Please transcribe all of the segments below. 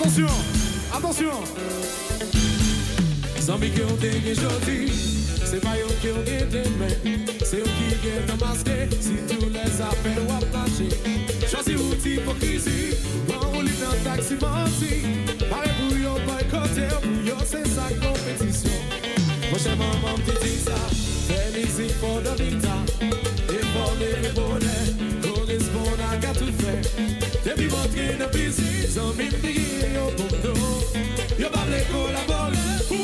Attention, attention. Zambie qui ont des jodi, c'est pas eux qui ont des demain, c'est eux qui ont masqué. Si tous les appels ou à marcher, choisis outil hypocrisie, on lit dans taxi menti, pareil pour yo boycotter, pour yo c'est sa compétition. Prochain maman me dit ça, fais musique pour le vita, et pour les bonheurs, correspond à qu'à tout faire. Depuis montrer de busy, Zambie me dit yo pour nous, yo pas les collaborer.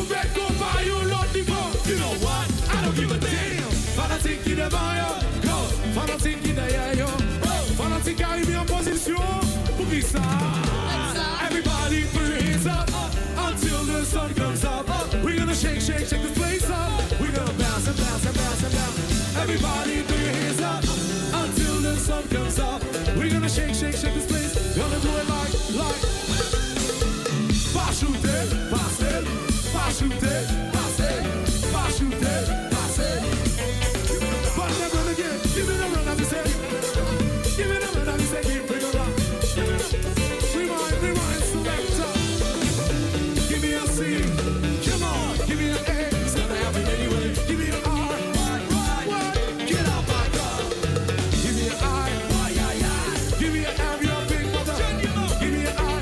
You know what? I don't give a damn. Fanatique qui devant yo, go. Fanatique qui derrière yo, fanatique arrivé en position. Pour qui ça? Everybody put your hands up until the sun comes up. We're gonna shake, shake, shake this place up. We're gonna bounce and bounce and bounce and bounce. Everybody put your hands up until the sun comes up. We're gonna shake, shake, shake this place. Gonna do it like. Pas shooter, passer, pas shooter, passer. Give me the run, I say. Give me the run, I say. Give me the run. Rewind, selector. Give me a C. Come on, give me an A. It's gonna happen anyway. Give me an R. What? Get out my car. Give me an I. Give me an M, you're a big mother. Give me an I.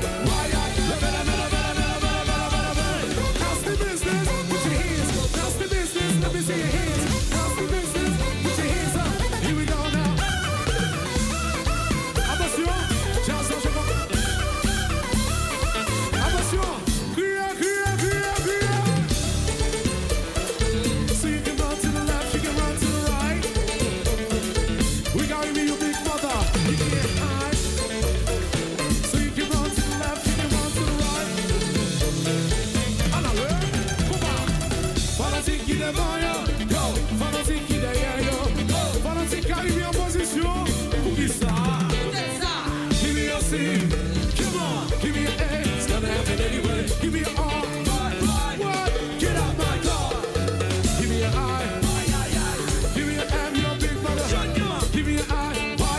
How's the business? Put your hands. How's the business? Let me see your hands. How's the business? Put your hands up. Here we go now. Attention, attention. Cria. So you can run to the left, you can run to the right. We gotta be your big mother. You can't hide. So you can run to the left, you can run to the right. Alors, come on. Fanatique qui devant yo, go. Fanatique qui derrière yo, go. Fanatique arrivé en position. Pour qui ça? Give me a C. Come on. Give me an A. It's gonna happen anyway. Give me an R. What? Get out my car. Give me an I. Give me an M, you're a big brother. Give me an I.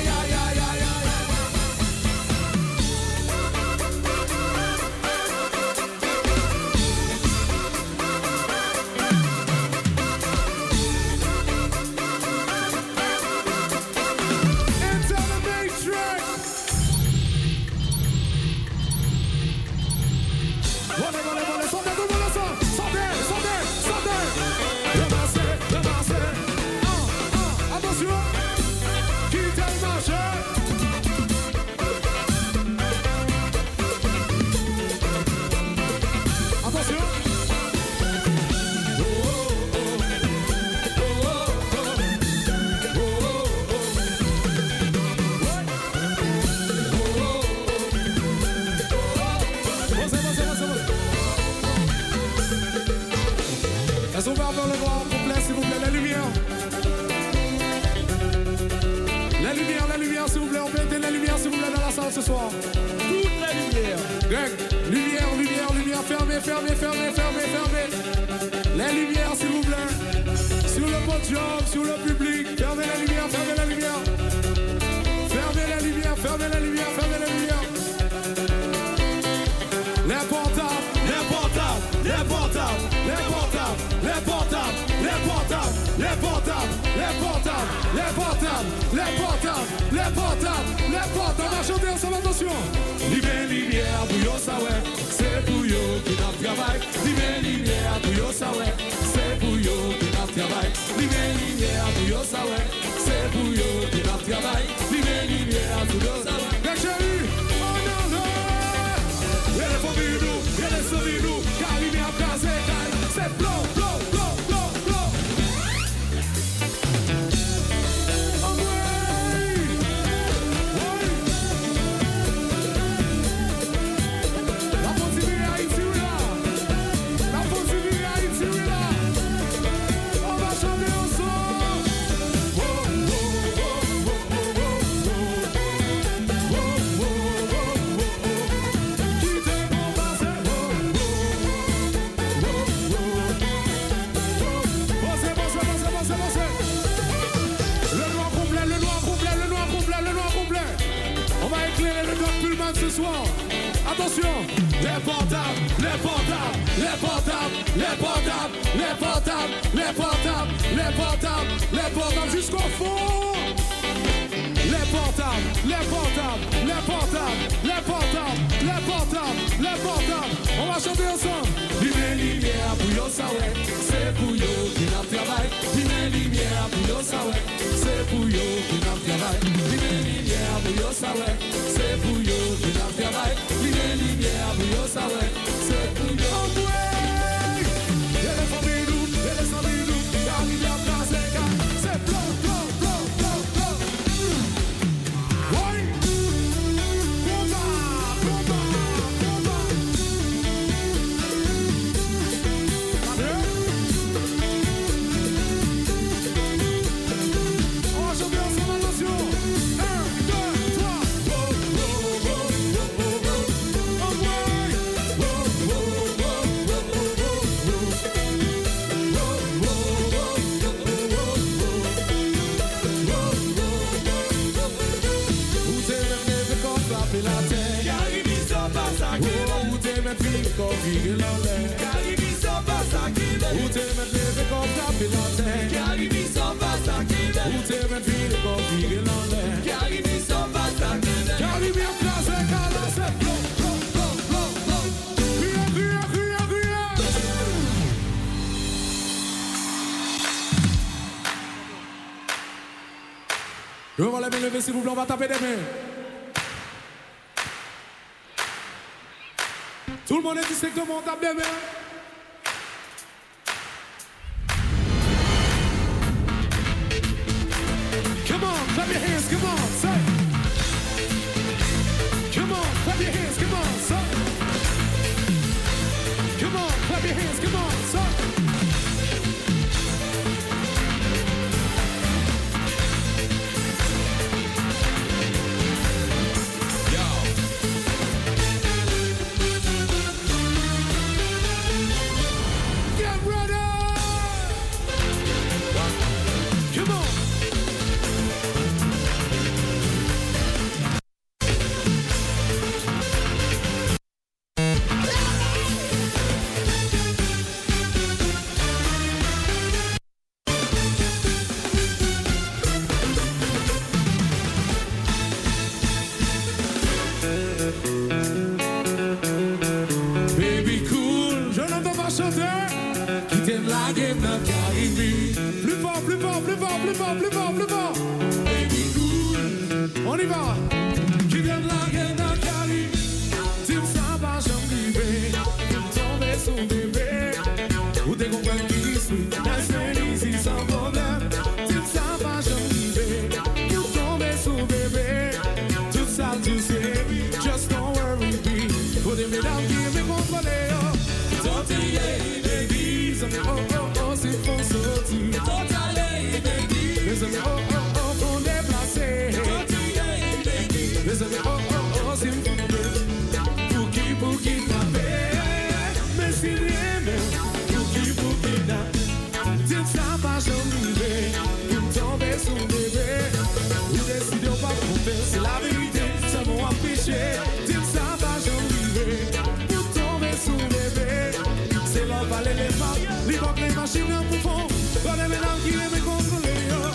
Enter the matrix. Volez, sortez. Ramassez. Attention. Quittez le marché. Attention. Elles sont vers le grand complet, s'il vous plaît, la lumière. La lumière, s'il vous plaît, on peut éteindre la lumière, s'il vous plaît, dans la salle ce soir. Toute la lumière. Greg, lumière, fermez. La lumière, s'il vous plaît. Sur le podium, sur le public, fermez la lumière. Fermez la lumière. Les portables, on va chanter ensemble, attention. Lumière, pour yo ça ouais, c'est pour yo qui n'a travail. Lumière, pour yo ça ouais, c'est pour yo qui n'a travail. Lumière, pour yo ça ouais, c'est pour yo qui n'a travail. Lumière, pour yo ça ouais. Chérie, oh non, les familles nous. Attention, les portables, les portables, les portables, les portables, les portables, les portables, les portables, les portables jusqu'au fond. Les portables, les portables, les portables, les portables, les portables, les portables. On va chanter ensemble. Lumière, lumière, pour yo sawe, c'est pour yo qui n'a travail. Lumière, lumière, pour yo sawe, c'est pour yo qui n'a travail. Lumière, lumière, pour yo sawe, c'est pour yo qui n'a travail. Lumière, lumière, pour yo sawe, c'est pour yo. Je vais les lever s'il vous plaît, on va taper des mains. Tout le monde est dit comment on tape des mains. Come on, clap your hands, come on, say. Come on, clap your hands, come on, say. Come on, clap your hands, come on, say. On y va. Qui vient de la gueule d'un cari. Tu ne sais pas, j'en vivais. Tomber sous bébé. Ou t'es compris qui suis. That's easy sans problème. Tu ne sais pas, j'en vivais. Tomber sous bébé. Tout ça, tu sais. Just don't worry, be. Pour des mesdames qui me contrôler. Don't you baby. Oh, oh, oh, c'est faux sortir. Don't you baby. Les amis, oh, oh, oh, font déplacer. Les amis, oh, oh, oh, c'est une femme pour qui taper. Mais si rien même, pour qui n'a. Tu ne sais pas, j'en vivais. Pour tomber sous bébé. Ou décider ou pas tromper, c'est la vérité. Ça m'a empêché. Tu ne sais pas, j'en vivais. Pour tomber sous bébé. C'est l'homme, parler les femmes. Les banques, les machines, un poufon. Pas les médailles qui les contrôler.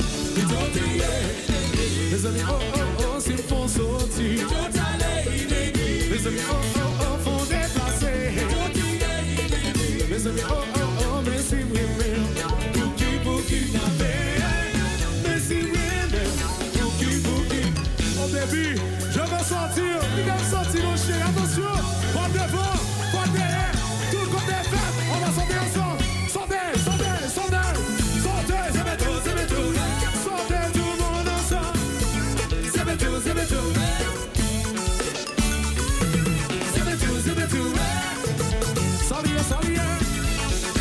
Les amis, oh, oh, oh, s'ils font sortir. Les amis, oh, oh, oh, font déplacer. Les amis, oh, oh, oh, mais si oui, pour qui n'avait. Mais si oui, pour qui. Au début, je veux sortir. Il va sortir, mon chien. Attention, pas devant, pas derrière. Tout le côté fait, on va sortir ensemble. Sortez, c'est tout. Sortez tout le monde ensemble. C'est tout. Salut.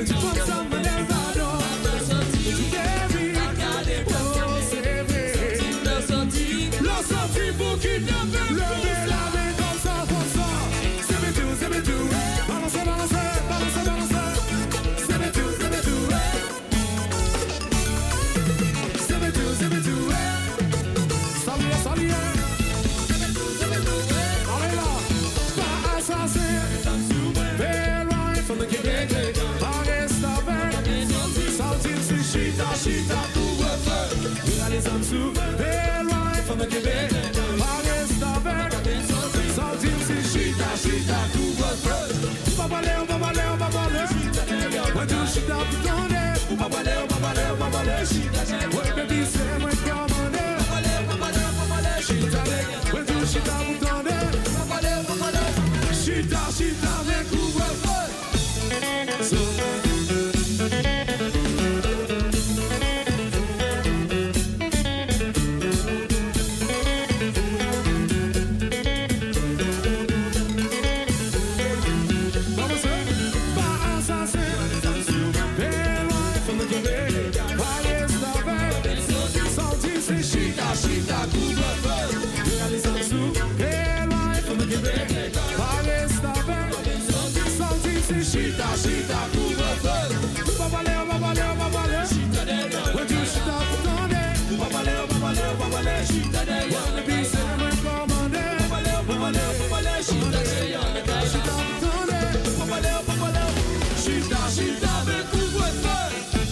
When tu penses à mon Elvado, tu t'aimes, oh c'est vrai. L'on sorti pour kidnapper. Levez la main comme ça. C'est mes tout. Balancez. C'est mes tout. C'est mes tout. Salut. Allez là, pas assassin. Very right from the Québec. Paris, Saltine, c'est chita, couvre-feu. Les hommes sous. Very right from the Québec. Paris, Saltine, c'est chita, couvre-feu. On va baller. When do chita, vous tendez. On va baller. Ouais, baby, c'est moi qui commande. When do chita, vous tendez. Chita, mais couvre-feu. Chita, couvre-feu. Les hommes sous. Hey, right from the Québec. Paris, Saltine, c'est chita, couvre-feu. On va baller. When you chita, vous tendez. On va baller. Chita derrière. Le bis, c'est moi commandé. On va baller. Chita derrière. Chita, vous tendez. On va baller. Chita, mais couvre-feu.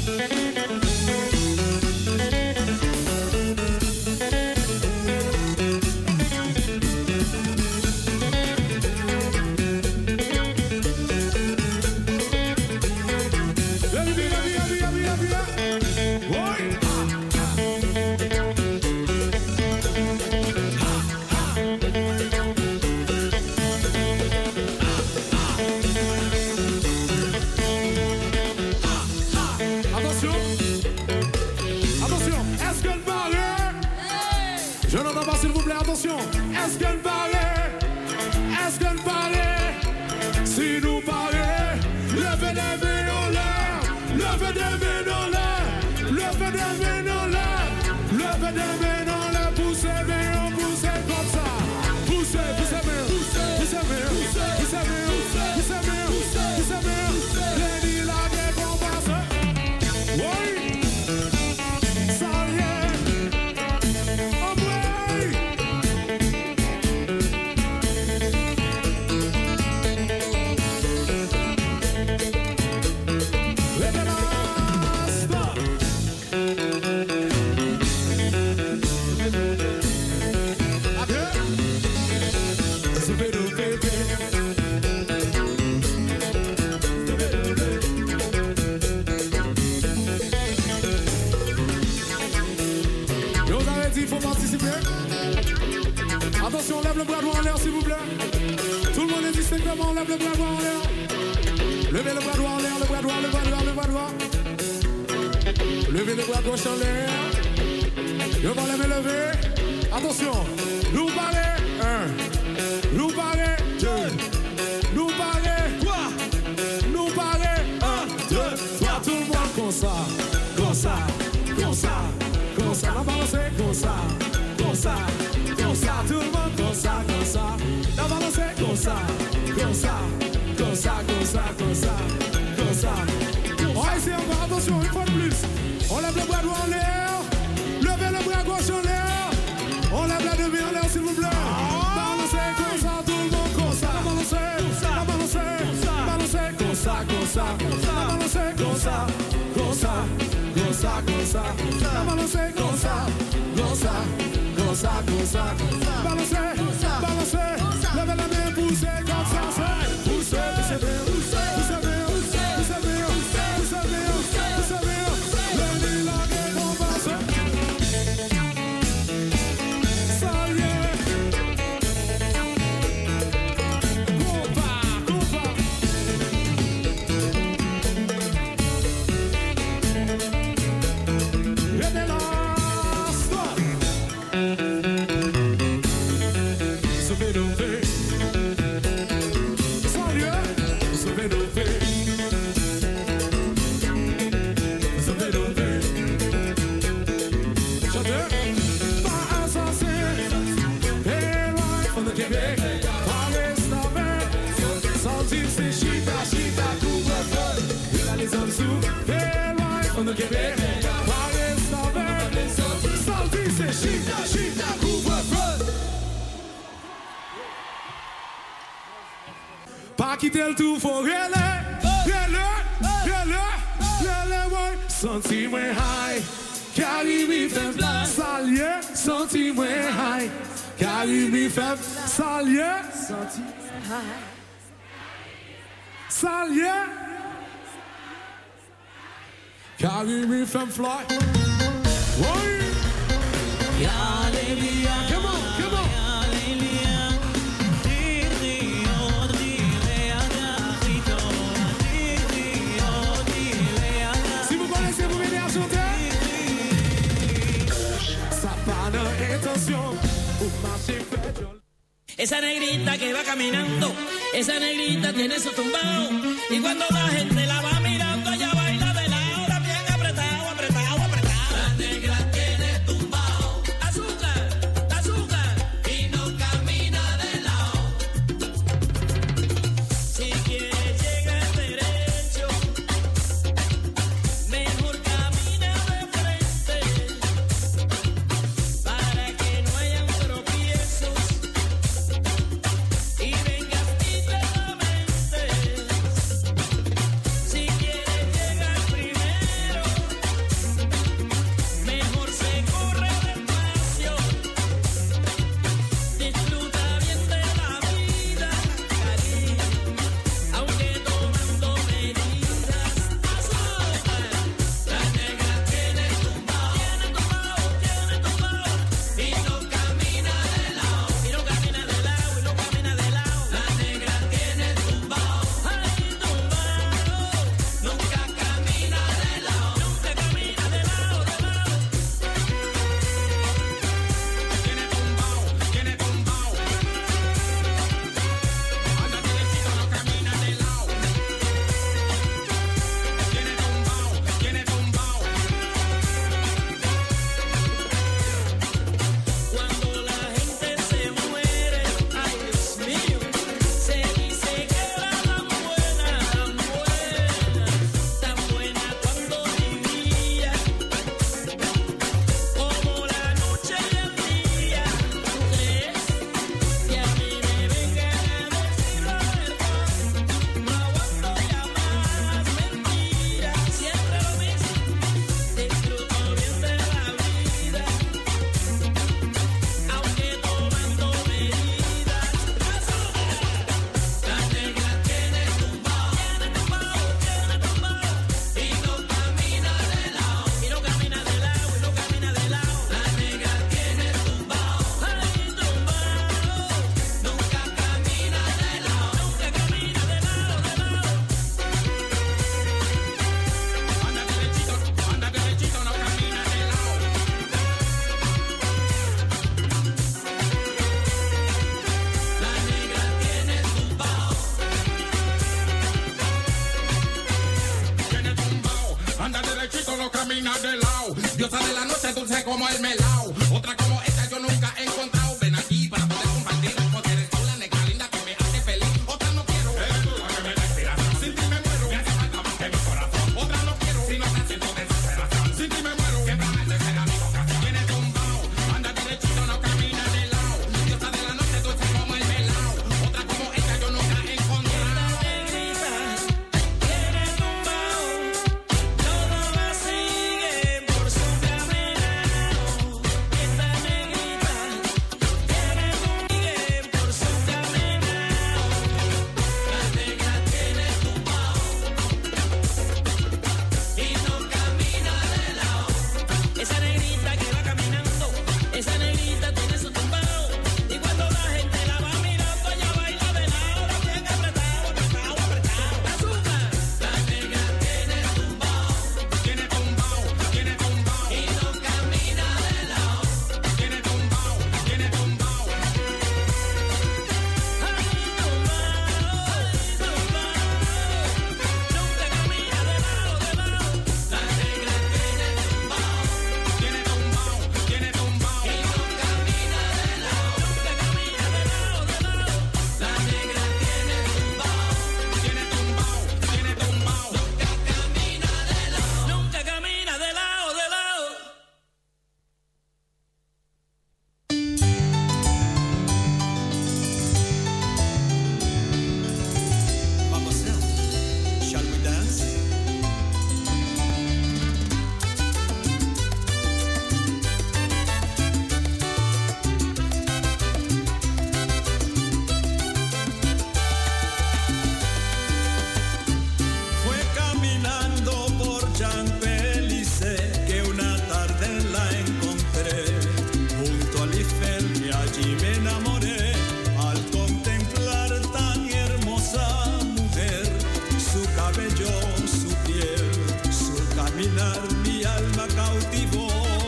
Attention, est-ce qu'elle paraît? Si nous paraît, levez des mains en l'air, levez des mains en l'air, poussez comme ça, poussez les nids là des combats, oui, ça y est. Attention, lève le bras droit en l'air s'il vous plaît. Tout le monde est distinctement, lève le bras droit en l'air. Levez le bras droit en l'air, le bras droit. Levez le bras gauche en l'air. Je vais les lever. Attention, nous parler 1, nous parler 2, nous parler 3, nous parler 1, 2, 3. Tout le monde comme ça. La balance est comme ça. Tout le monde comme ça. La balance est comme ça. On va essayer encore, attention, une fois de plus. On lève le bras droit en l'air. Levez le bras gauche en l'air. On lève la demi en l'air s'il vous plaît. Balancez comme ça, tout le monde comme ça. Balancez comme ça. Balancez comme ça. Balancez comme ça. Balancez. Levez la main, poussez comme ça. Poussez. zoek heel lang van de GB. Waar is dat weer? Zal die se shit, couvre-feu. Pas quitter le tout pour rêler, ouais. Senti-moi high, Caribe fait salier. Senti-moi high, Caribe fait salier. Senti-moi high, salier. Caribe fait fly. Ouais. Come on. Esa negrita que va caminando, esa negrita tiene su tumbao. Y cuando la gente la va mirando, ella baila de lado, bien apretado. La negra tiene tumbao. Azúcar, y no camina de lado. Si quieres llegar derecho, mejor camina de frente, para que no hayan tropiezos. Y vengas lentamente. Si quieres llegar primero, mejor se corre despacio. Disfruta bien de la vida, cariño, aunque tomando medidas. Azúcar, la negra tiene tumbao. Y no camina de lado. La negra tiene tumbao. Nunca camina de lado. Tiene tumbao. Anda derechito, no camina de lado. Tiene tumbao. Cuando la gente se muere, ay Dios mío, se dice que era tan buena cuando vivía, como la noche y el día. ¿Crees que a mí me vengan a decir la verdad? No aguanto ya más mentiras, siempre lo mismo. Disfruto bien de la vida, aunque tomando medidas. La negra tiene tumbao. Y no camina de lado. La negra tiene tumbao. Nunca camina de lado. Anda derechito, no camina de lado. La negra tiene tumbao. Anda derechito, no camina de lado. Diosa de la noche, dulce como el melao. Otra como esta yo nunca he encontrado. Ven aquí para poder compartir. Porque eres tú la negra linda que me hace feliz. Otra no quiero. Eres tú la que me da inspiración. Sin ti me muero. Me hace falta más que mi corazón. Otra no quiero. Si no te siento desesperación. Sin ti me muero. Siempre me será mi vocación. Tiene tumbao. Anda derechito, no camina de lado. Diosa de la noche, dulce como el melao. Otra como esta yo nunca he encontrado. Esta negrita tiene tumbao. Todo va sigue por su caminado. mirar mi alma cautivó.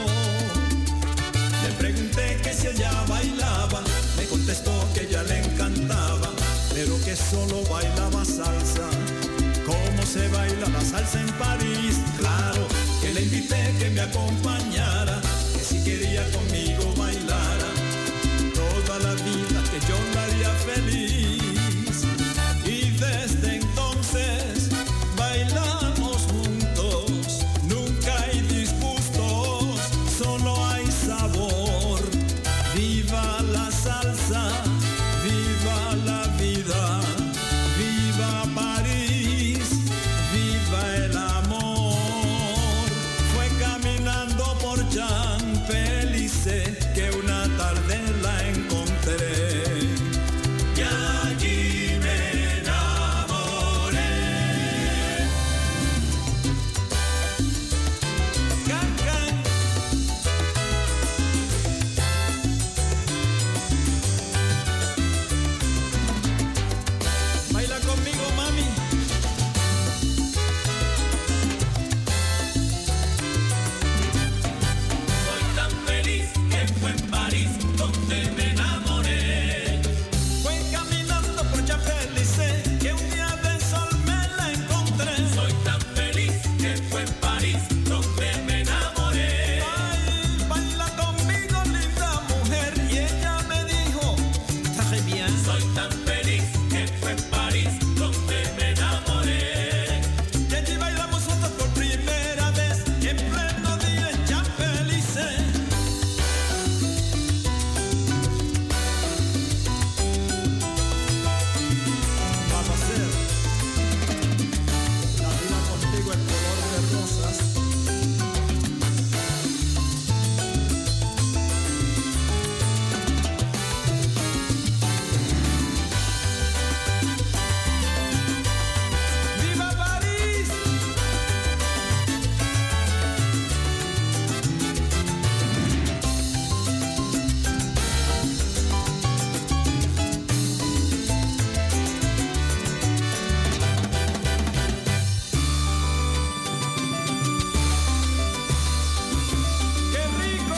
Le pregunté que si ella bailaba, me contestó que ella le encantaba, pero que solo bailaba salsa. ¿Cómo se baila la salsa en París? Claro, que le invité que me acompañara, que si quería conmigo bailara, toda la vida que yo la haría feliz. Y desde entonces bailamos juntos, nunca hay disgustos, solo hay sabor. Viva la salsa, viva la vida, viva París, viva el amor. Fue caminando por Champs-Élysées que una tarde la encontré y allí me enamoré. Can, can. Baila conmigo, mami. Soy tan feliz que fue en París donde me enamoré. Fue caminando por Champs-Élysées que un día de sol me la encontré. Soy tan feliz que fue en París donde me enamoré. Ay, baila conmigo, linda mujer. Y ella me dijo, très bien. Soy tan feliz que fue en París donde me enamoré. Y allí bailamos juntos por primera vez en pleno día en Champs-Élysées. Vamos a hacer la vida contigo en color de rosas. ¡Viva París! ¡Qué rico!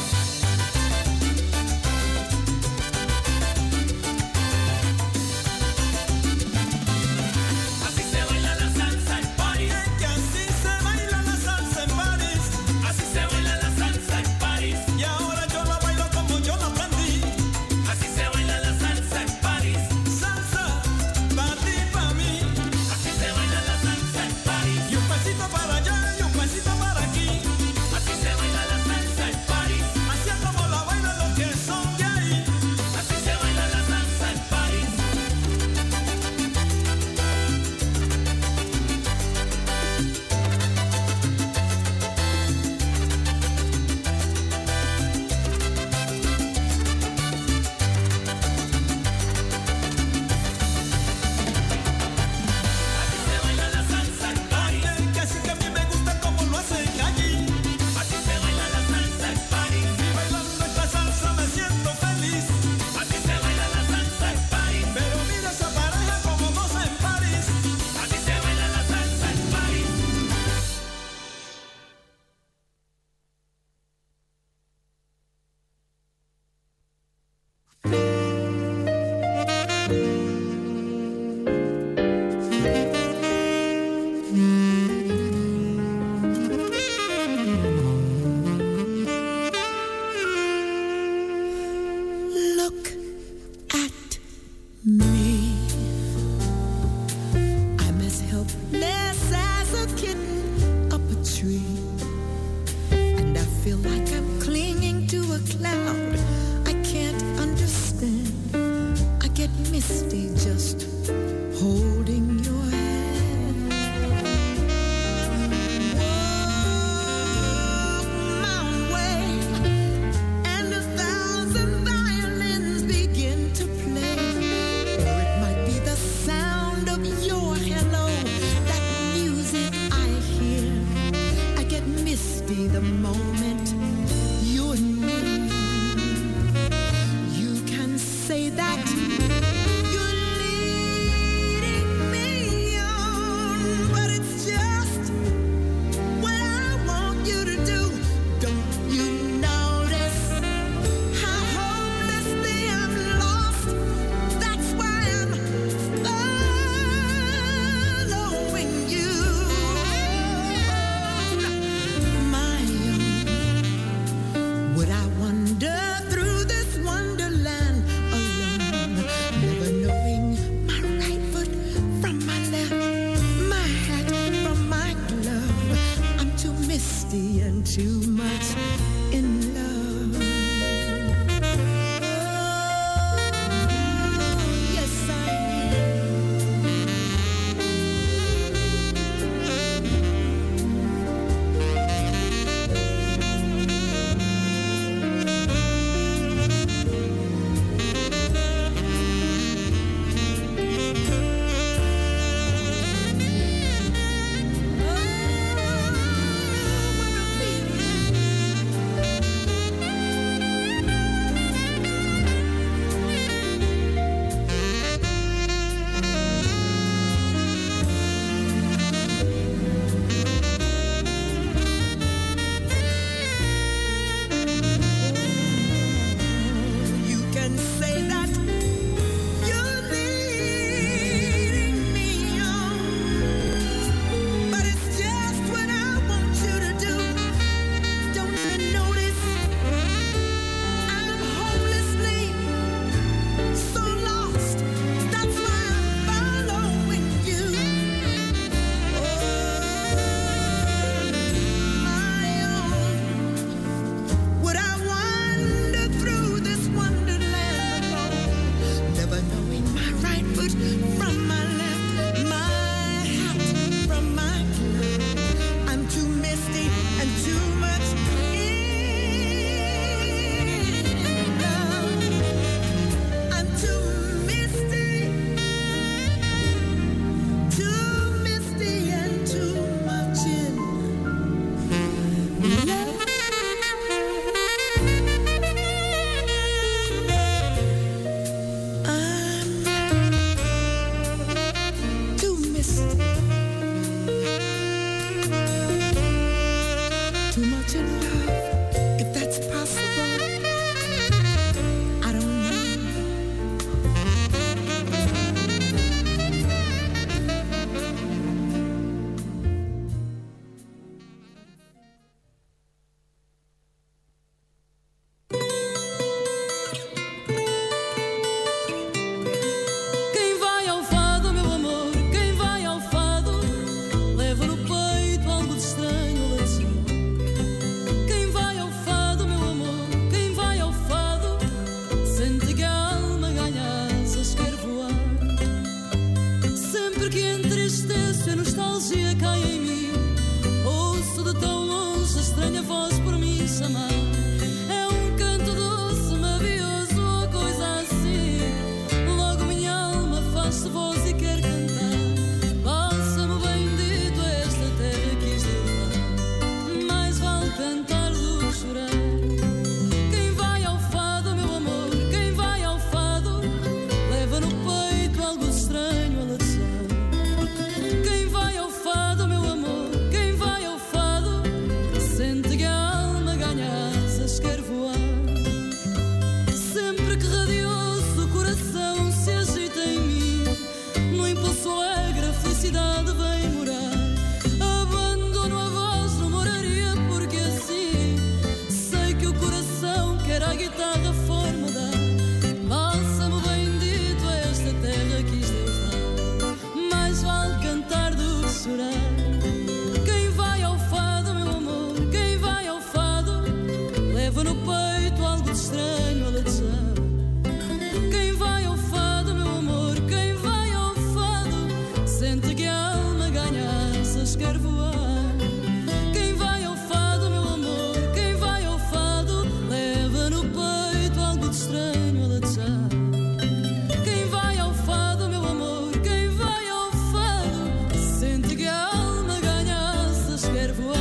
Así se baila la salsa en París. Que así se baila la salsa en París. Así se baila la salsa en París. Y ahora yo la bailo como yo la aprendí. Así se baila la salsa en París. Salsa, pa' ti, pa' mí. Así se baila la salsa en París. Y un pasito para allá y un pasito para aquí. Así se baila la salsa en París. Así es como la bailan los que son de ahí. Así se baila la salsa en París. Así se baila la salsa en París. Que así que a mí me gusta como lo hacen allí. Así se baila la salsa en París. Y bailando esta salsa me siento feliz. Así se baila la salsa en París. Pero mira esa pareja como goza en París. Así se baila la salsa en París. Look at me. I'm as helpless as a kitten up a tree. And I feel like I'm clinging to a cloud. I can't understand. I get misty just holding your hand. Walk my way, and 1,000 violins begin to play. Or it might be the sound of your hello, that music I hear. I get misty the moment you and me. You can say that you're leading me on, but it's just what I quer voar. Quem vai ao fado, meu amor, quem vai ao fado, leva no peito algo de estranho a latejar. Quem vai ao fado, meu amor, quem vai ao fado, sente que a alma ganha asas, quer voar.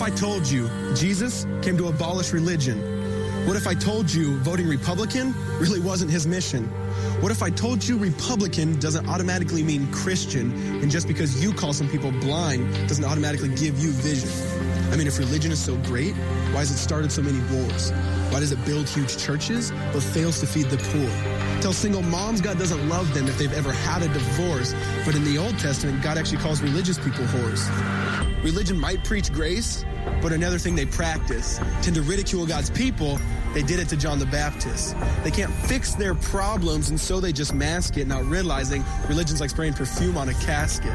I told you Jesus came to abolish religion? What if I told you voting Republican really wasn't his mission? What if I told you Republican doesn't automatically mean Christian, and just because you call some people blind doesn't automatically give you vision? I mean, if religion is so great, why has it started so many wars? Why does it build huge churches but fails to feed the poor? Tell single moms God doesn't love them if they've ever had a divorce, but in the Old Testament, God actually calls religious people whores. Religion might preach grace, but another thing they practice, tend to ridicule God's people. They did it to John the Baptist. They can't fix their problems, and so they just mask it, not realizing religion's like spraying perfume on a casket.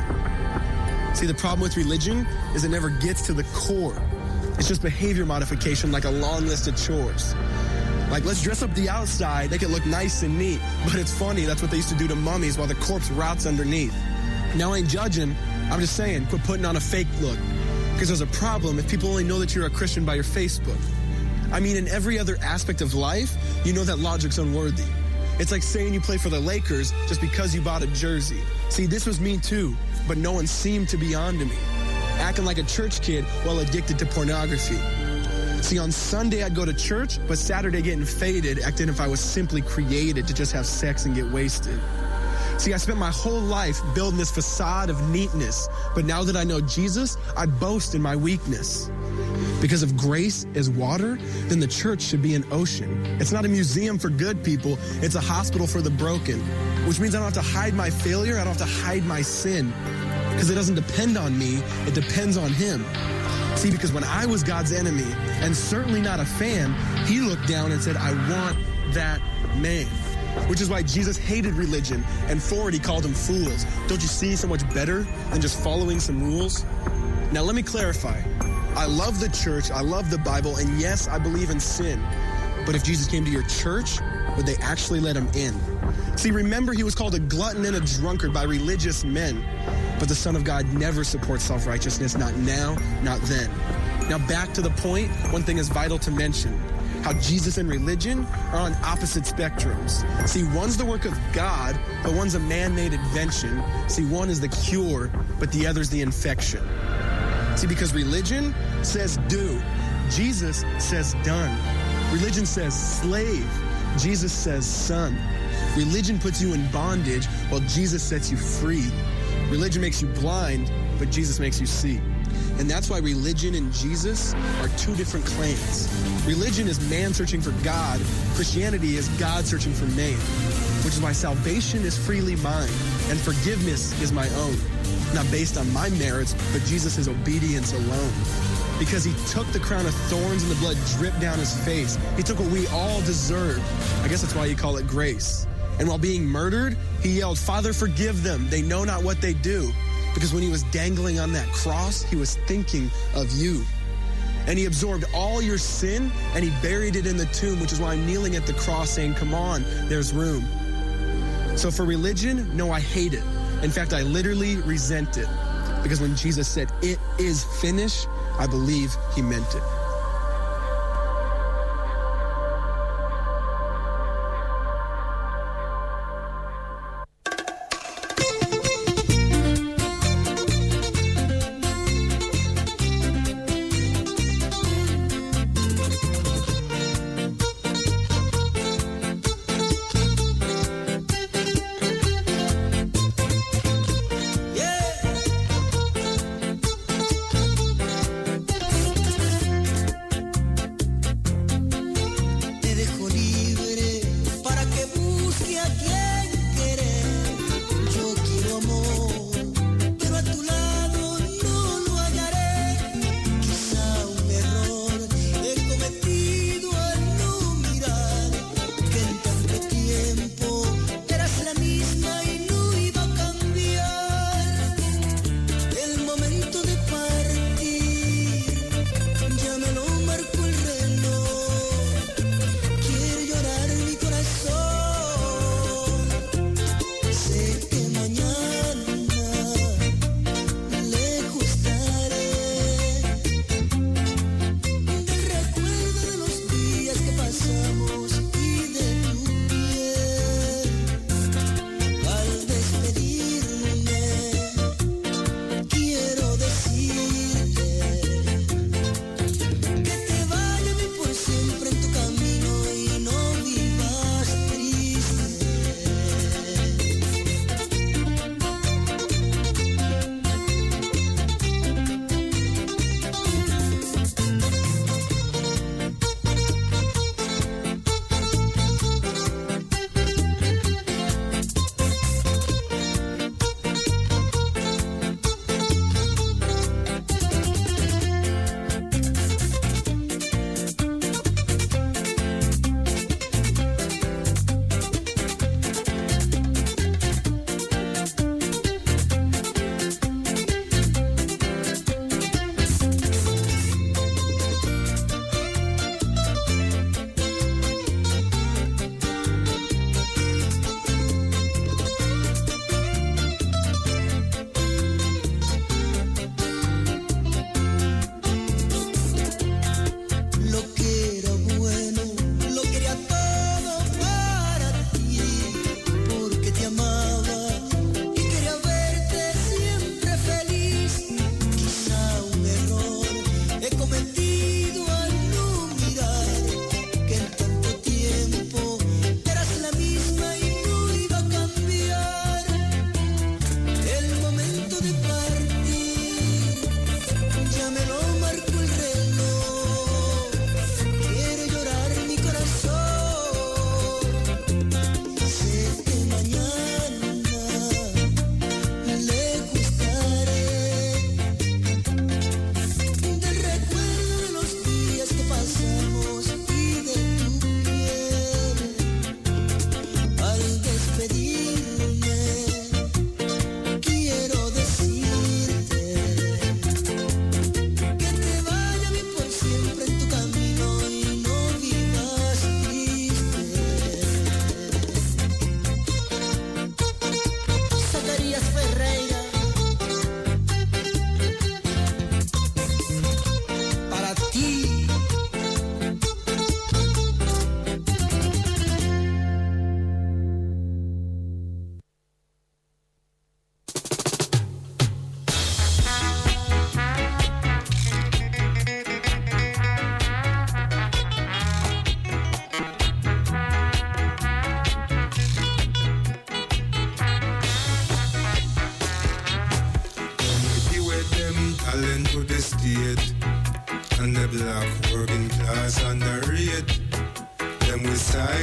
See, the problem with religion is it never gets to the core. It's just behavior modification, like a long list of chores. Like, let's dress up the outside, make it look nice and neat. But it's funny, that's what they used to do to mummies while the corpse rots underneath. Now, I ain't judging. I'm just saying, quit putting on a fake look. Because there's a problem if people only know that you're a Christian by your Facebook. I mean, in every other aspect of life, you know that logic's unworthy. It's like saying you play for the Lakers just because you bought a jersey. See, this was me too, but no one seemed to be on to me. Acting like a church kid while addicted to pornography. See, on Sunday I'd go to church, but Saturday getting faded, acting if I was simply created to just have sex and get wasted. See, I spent my whole life building this facade of neatness, but now that I know Jesus, I boast in my weakness. Because if grace is water, then the church should be an ocean. It's not a museum for good people, it's a hospital for the broken, which means I don't have to hide my failure, I don't have to hide my sin. Because it doesn't depend on me, it depends on him. See, because when I was God's enemy, and certainly not a fan, he looked down and said, I want that man. Which is why Jesus hated religion, and for it he called them fools. Don't you see so much better than just following some rules? Now let me clarify. I love the church, I love the Bible, and yes, I believe in sin. But if Jesus came to your church, would they actually let him in? See, remember he was called a glutton and a drunkard by religious men. But the Son of God never supports self-righteousness, not now, not then. Now back to the point, one thing is vital to mention. How Jesus and religion are on opposite spectrums. See, one's the work of God, but one's a man-made invention. See, one is the cure, but the other's the infection. See, because religion says do. Jesus says done. Religion says slave. Jesus says son. Religion puts you in bondage while Jesus sets you free. Religion makes you blind, but Jesus makes you see. And that's why religion and Jesus are two different claims. Religion is man searching for God. Christianity is God searching for man. Which is why salvation is freely mine and forgiveness is my own. Not based on my merits, but Jesus' obedience alone. Because he took the crown of thorns and the blood dripped down his face. He took what we all deserved. I guess that's why you call it grace. And while being murdered, he yelled, Father, forgive them. They know not what they do. Because when he was dangling on that cross, he was thinking of you. And he absorbed all your sin and he buried it in the tomb, which is why I'm kneeling at the cross saying, come on, there's room. So for religion, no, I hate it. In fact, I literally resent it. Because when Jesus said, it is finished, I believe he meant it.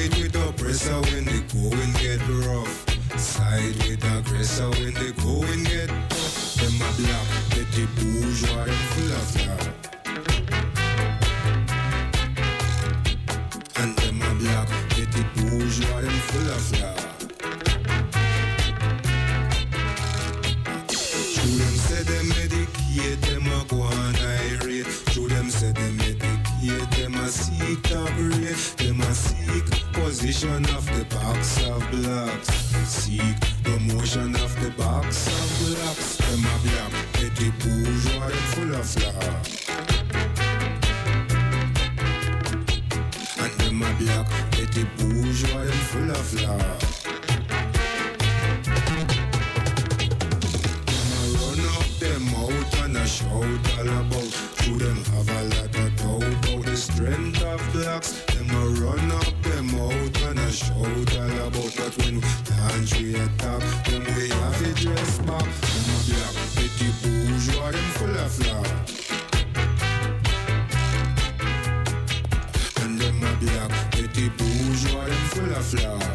Side with oppressor when the going get rough. Side with aggressor when the going get tough. Them a black, petty bourgeois, them full of love. And them a black, petty bourgeois, them full of love. True them say them medicate, them a go on irate. True them say them medicate, them a seek top rate. Them a seek position of the box of blocks. Seek promotion of the box of blocks. Them a black, petty bourgeois, them full of love. And them a black, petty bourgeois, them full of love. Them out and a shout all about. Through them have a lot of doubt about the strength of blacks. Them a run up them out and a shout all about. But when we launch we attack, them we have to dress back. Them a black petty bourgeois, them full of love. And them a black petty bourgeois, them full of love.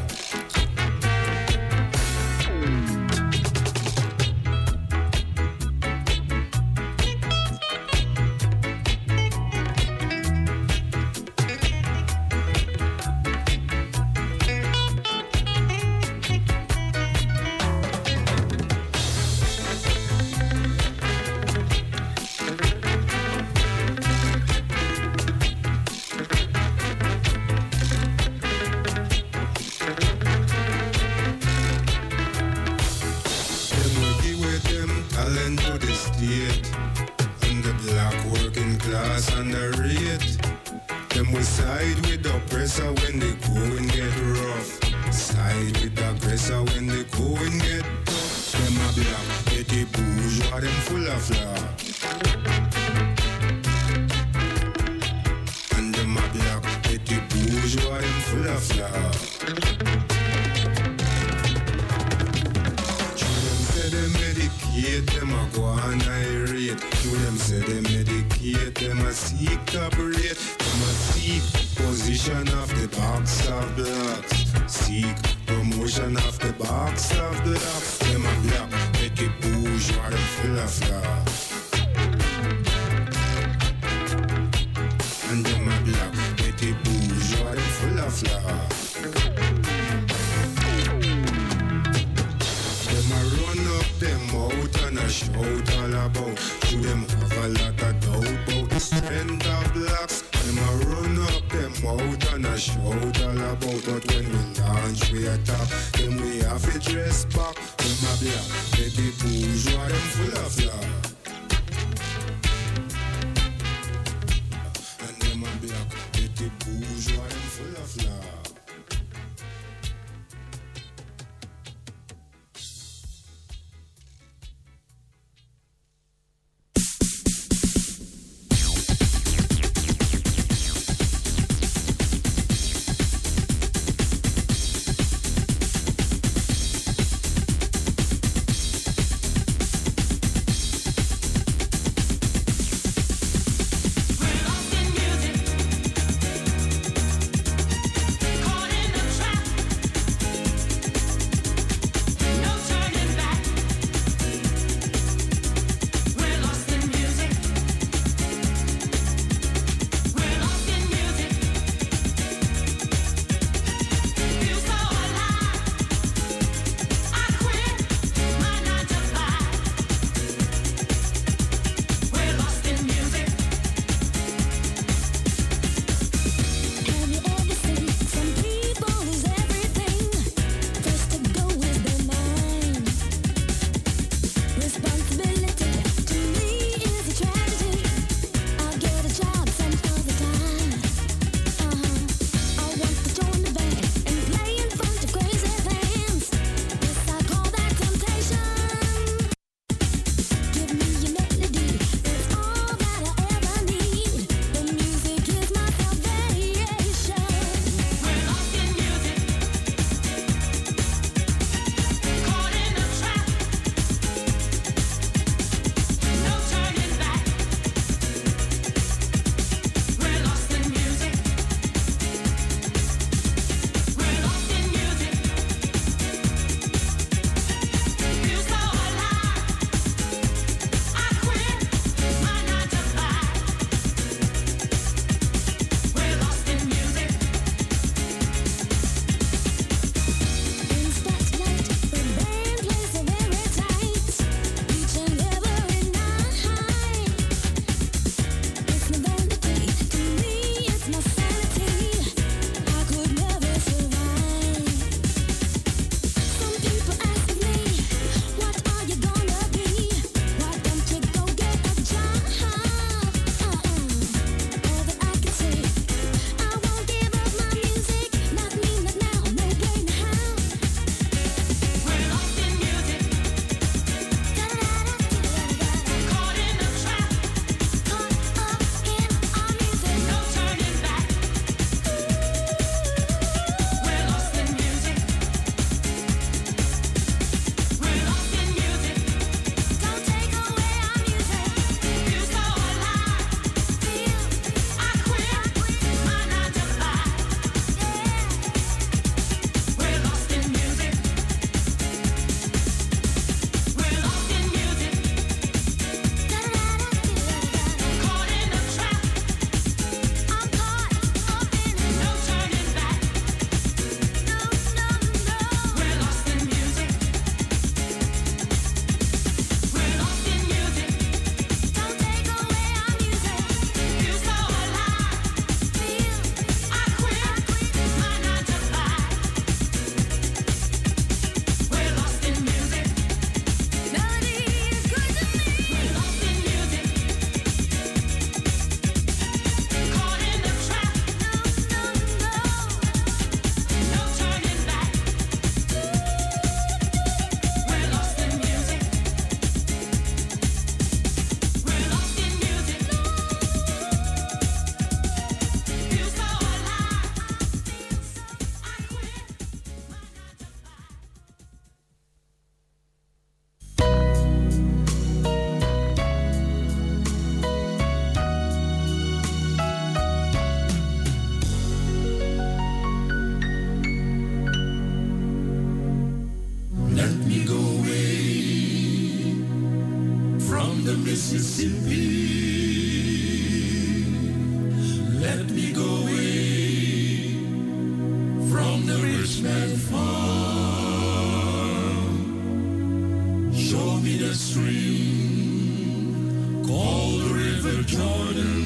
Mississippi. Let me go away from the rich man farm. Show me the stream called the River Jordan.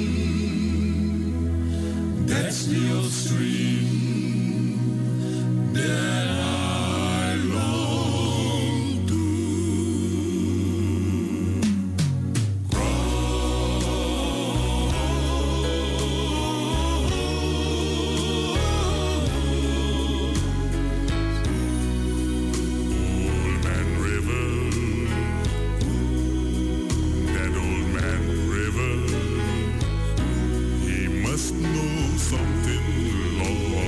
That's the old stream that I long to Old Man River, that old man river, he must know something, Lord.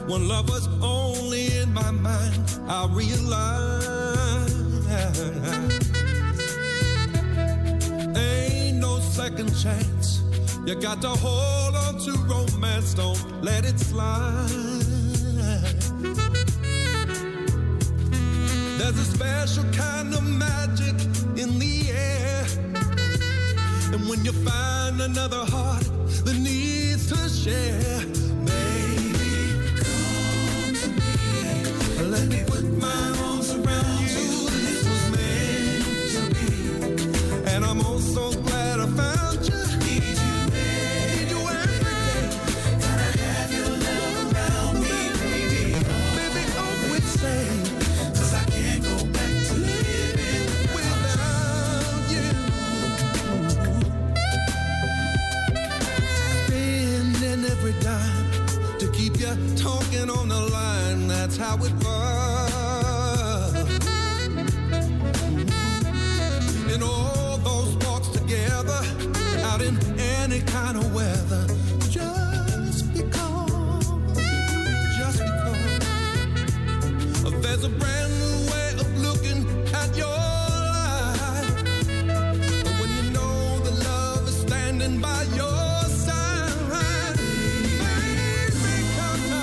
when love was only in my mind, I realized ain't no second chance. You got to hold on to romance, don't let it slide. There's a special kind of magic in the air, and when you find another heart that needs to share, baby, come to me. Let me put my arms around you. This was meant to be, and I'm also glad I found you. Need you every day. Gotta have your love around me, baby. Baby, always say, 'cause I can't go back to living without you. Spending every dime to keep you talking on the line. That's how it was. In all those walks together, out in any kind of weather,